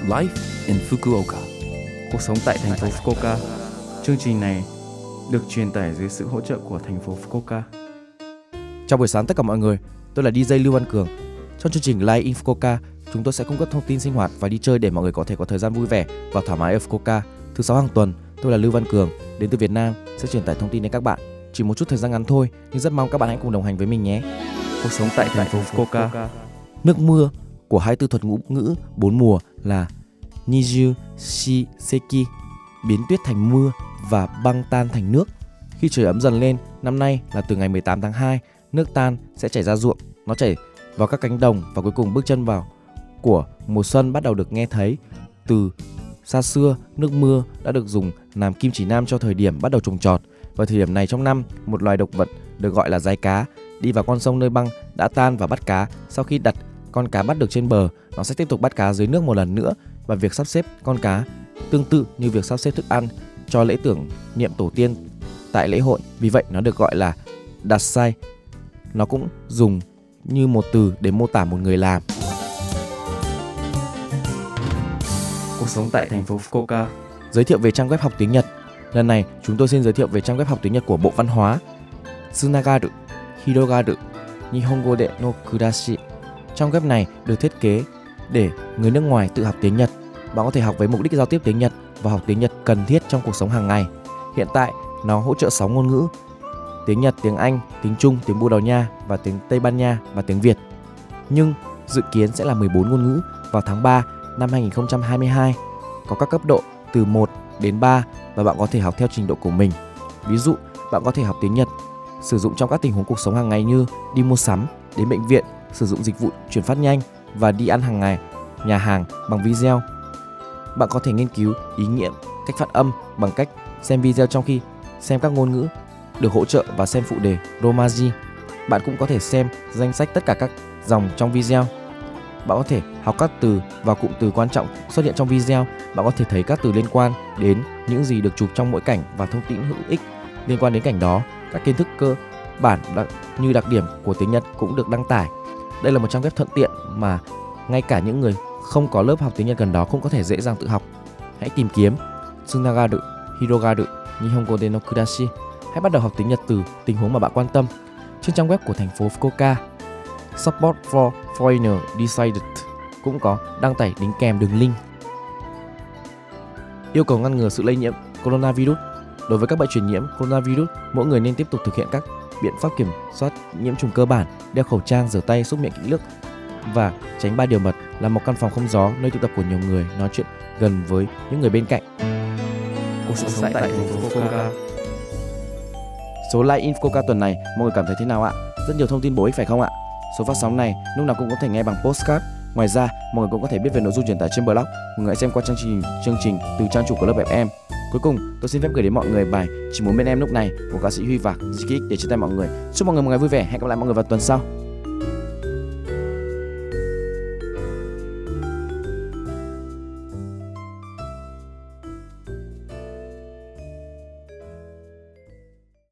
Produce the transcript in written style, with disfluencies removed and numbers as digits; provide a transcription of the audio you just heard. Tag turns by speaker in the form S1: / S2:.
S1: Life in Fukuoka. Cuộc sống tại thành phố Fukuoka. Chương trình này được truyền tải dưới sự hỗ trợ của thành phố Fukuoka.
S2: Chào buổi sáng tất cả mọi người, tôi là DJ Lưu Văn Cường. Trong chương trình Live in Fukuoka, chúng tôi sẽ cung cấp thông tin sinh hoạt và đi chơi để mọi người có thể có thời gian vui vẻ và thoải mái ở Fukuoka. Thứ 6 hàng tuần, tôi là Lưu Văn Cường, đến từ Việt Nam, sẽ truyền tải thông tin đến các bạn. Chỉ một chút thời gian ngắn thôi, nhưng rất mong các bạn hãy cùng đồng hành với mình nhé.
S1: Cuộc sống tại thành phố Fukuoka.
S2: Nước mưa của 24 thuật ngữ 4 mùa là Niju Shiki, biến tuyết thành mưa và băng tan thành nước. Khi trời ấm dần lên, năm nay là từ ngày 18 tháng 2, nước tan sẽ chảy ra ruộng, nó chảy vào các cánh đồng và cuối cùng bước chân vào của mùa xuân bắt đầu được nghe thấy. Từ xa xưa, nước mưa đã được dùng làm kim chỉ nam cho thời điểm bắt đầu trồng trọt. Vào thời điểm này trong năm, một loài động vật được gọi là dái cá đi vào con sông nơi băng đã tan và bắt cá. Sau khi đặt con cá bắt được trên bờ, nó sẽ tiếp tục bắt cá dưới nước một lần nữa, và việc sắp xếp con cá tương tự như việc sắp xếp thức ăn cho lễ tưởng niệm tổ tiên tại lễ hội. Vì vậy nó được gọi là Datsai. Nó cũng dùng như một từ để mô tả một người làm.
S1: Cuộc sống tại thành phố Fukuoka.
S2: Giới thiệu về trang web học tiếng Nhật. Lần này chúng tôi xin giới thiệu về trang web học tiếng Nhật của Bộ Văn hóa. Tsunagaru, Hirogaru, Nihongo de no Kurashi. Trang web này được thiết kế để người nước ngoài tự học tiếng Nhật. Bạn có thể học với mục đích giao tiếp tiếng Nhật và học tiếng Nhật cần thiết trong cuộc sống hàng ngày. Hiện tại nó hỗ trợ 6 ngôn ngữ: tiếng Nhật, tiếng Anh, tiếng Trung, tiếng Bồ Đào Nha và tiếng Tây Ban Nha và tiếng Việt. Nhưng dự kiến sẽ là 14 ngôn ngữ vào tháng 3 năm 2022. Có các cấp độ từ 1 đến 3 và bạn có thể học theo trình độ của mình. Ví dụ, bạn có thể học tiếng Nhật sử dụng trong các tình huống cuộc sống hàng ngày như đi mua sắm, đến bệnh viện, sử dụng dịch vụ chuyển phát nhanh và đi ăn hàng ngày, nhà hàng bằng video. Bạn có thể nghiên cứu ý nghĩa cách phát âm bằng cách xem video trong khi xem các ngôn ngữ được hỗ trợ và xem phụ đề Romaji. Bạn cũng có thể xem danh sách tất cả các dòng trong video. Bạn có thể học các từ và cụm từ quan trọng xuất hiện trong video. Bạn có thể thấy các từ liên quan đến những gì được chụp trong mỗi cảnh và thông tin hữu ích liên quan đến cảnh đó. Các kiến thức cơ bản như đặc điểm của tiếng Nhật cũng được đăng tải. Đây là một trang web thuận tiện mà ngay cả những người không có lớp học tiếng Nhật gần đó cũng có thể dễ dàng tự học. Hãy tìm kiếm Tsunagaru, Hirogaru, Nihongo de no Kurashi. Hãy bắt đầu học tiếng Nhật từ tình huống mà bạn quan tâm. Trên trang web của thành phố Fukuoka, Support for Foreigner Decided cũng có đăng tải đính kèm đường link. Yêu cầu ngăn ngừa sự lây nhiễm coronavirus. Đối với các bệnh truyền nhiễm coronavirus, mỗi người nên tiếp tục thực hiện các biện pháp kiểm soát nhiễm trùng cơ bản: đeo khẩu trang, rửa tay, súc miệng kỹ lưỡng và tránh 3 điều mật, là một căn phòng không gió, nơi tụ tập của nhiều người, nói chuyện gần với những người bên cạnh.
S1: Cuộc sống tại thành phố Fukuoka.
S2: Số Live in Fukuoka tuần này mọi người cảm thấy thế nào ạ? Rất nhiều thông tin bổ ích phải không ạ? Số phát sóng này lúc nào cũng có thể nghe bằng podcast. Ngoài ra, mọi người cũng có thể biết về nội dung truyền tải trên blog. Mọi người hãy xem qua chương trình từ trang chủ của lớp FM. Cuối cùng, tôi xin phép gửi đến mọi người bài Chỉ Muốn Bên Em Lúc Này của ca sĩ Huy Vạc Zikik để chia tay mọi người. Chúc mọi người một ngày vui vẻ. Hẹn gặp lại mọi người vào tuần sau.